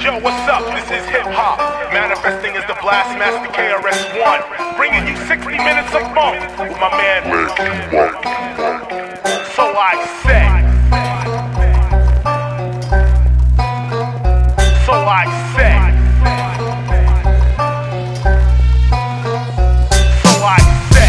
Yo, what's up? This is hip hop. Manifesting as the Blastmaster KRS-One. Bringing you 60 minutes of funk with my man. So I say. So I say. So I say.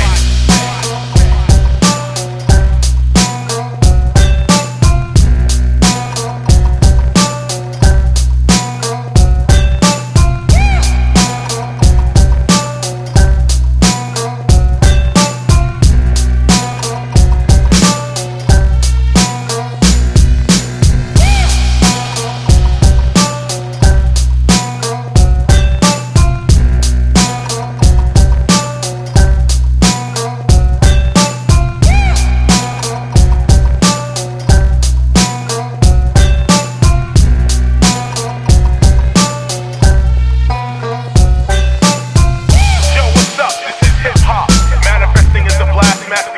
Manifesting as the Blastmaster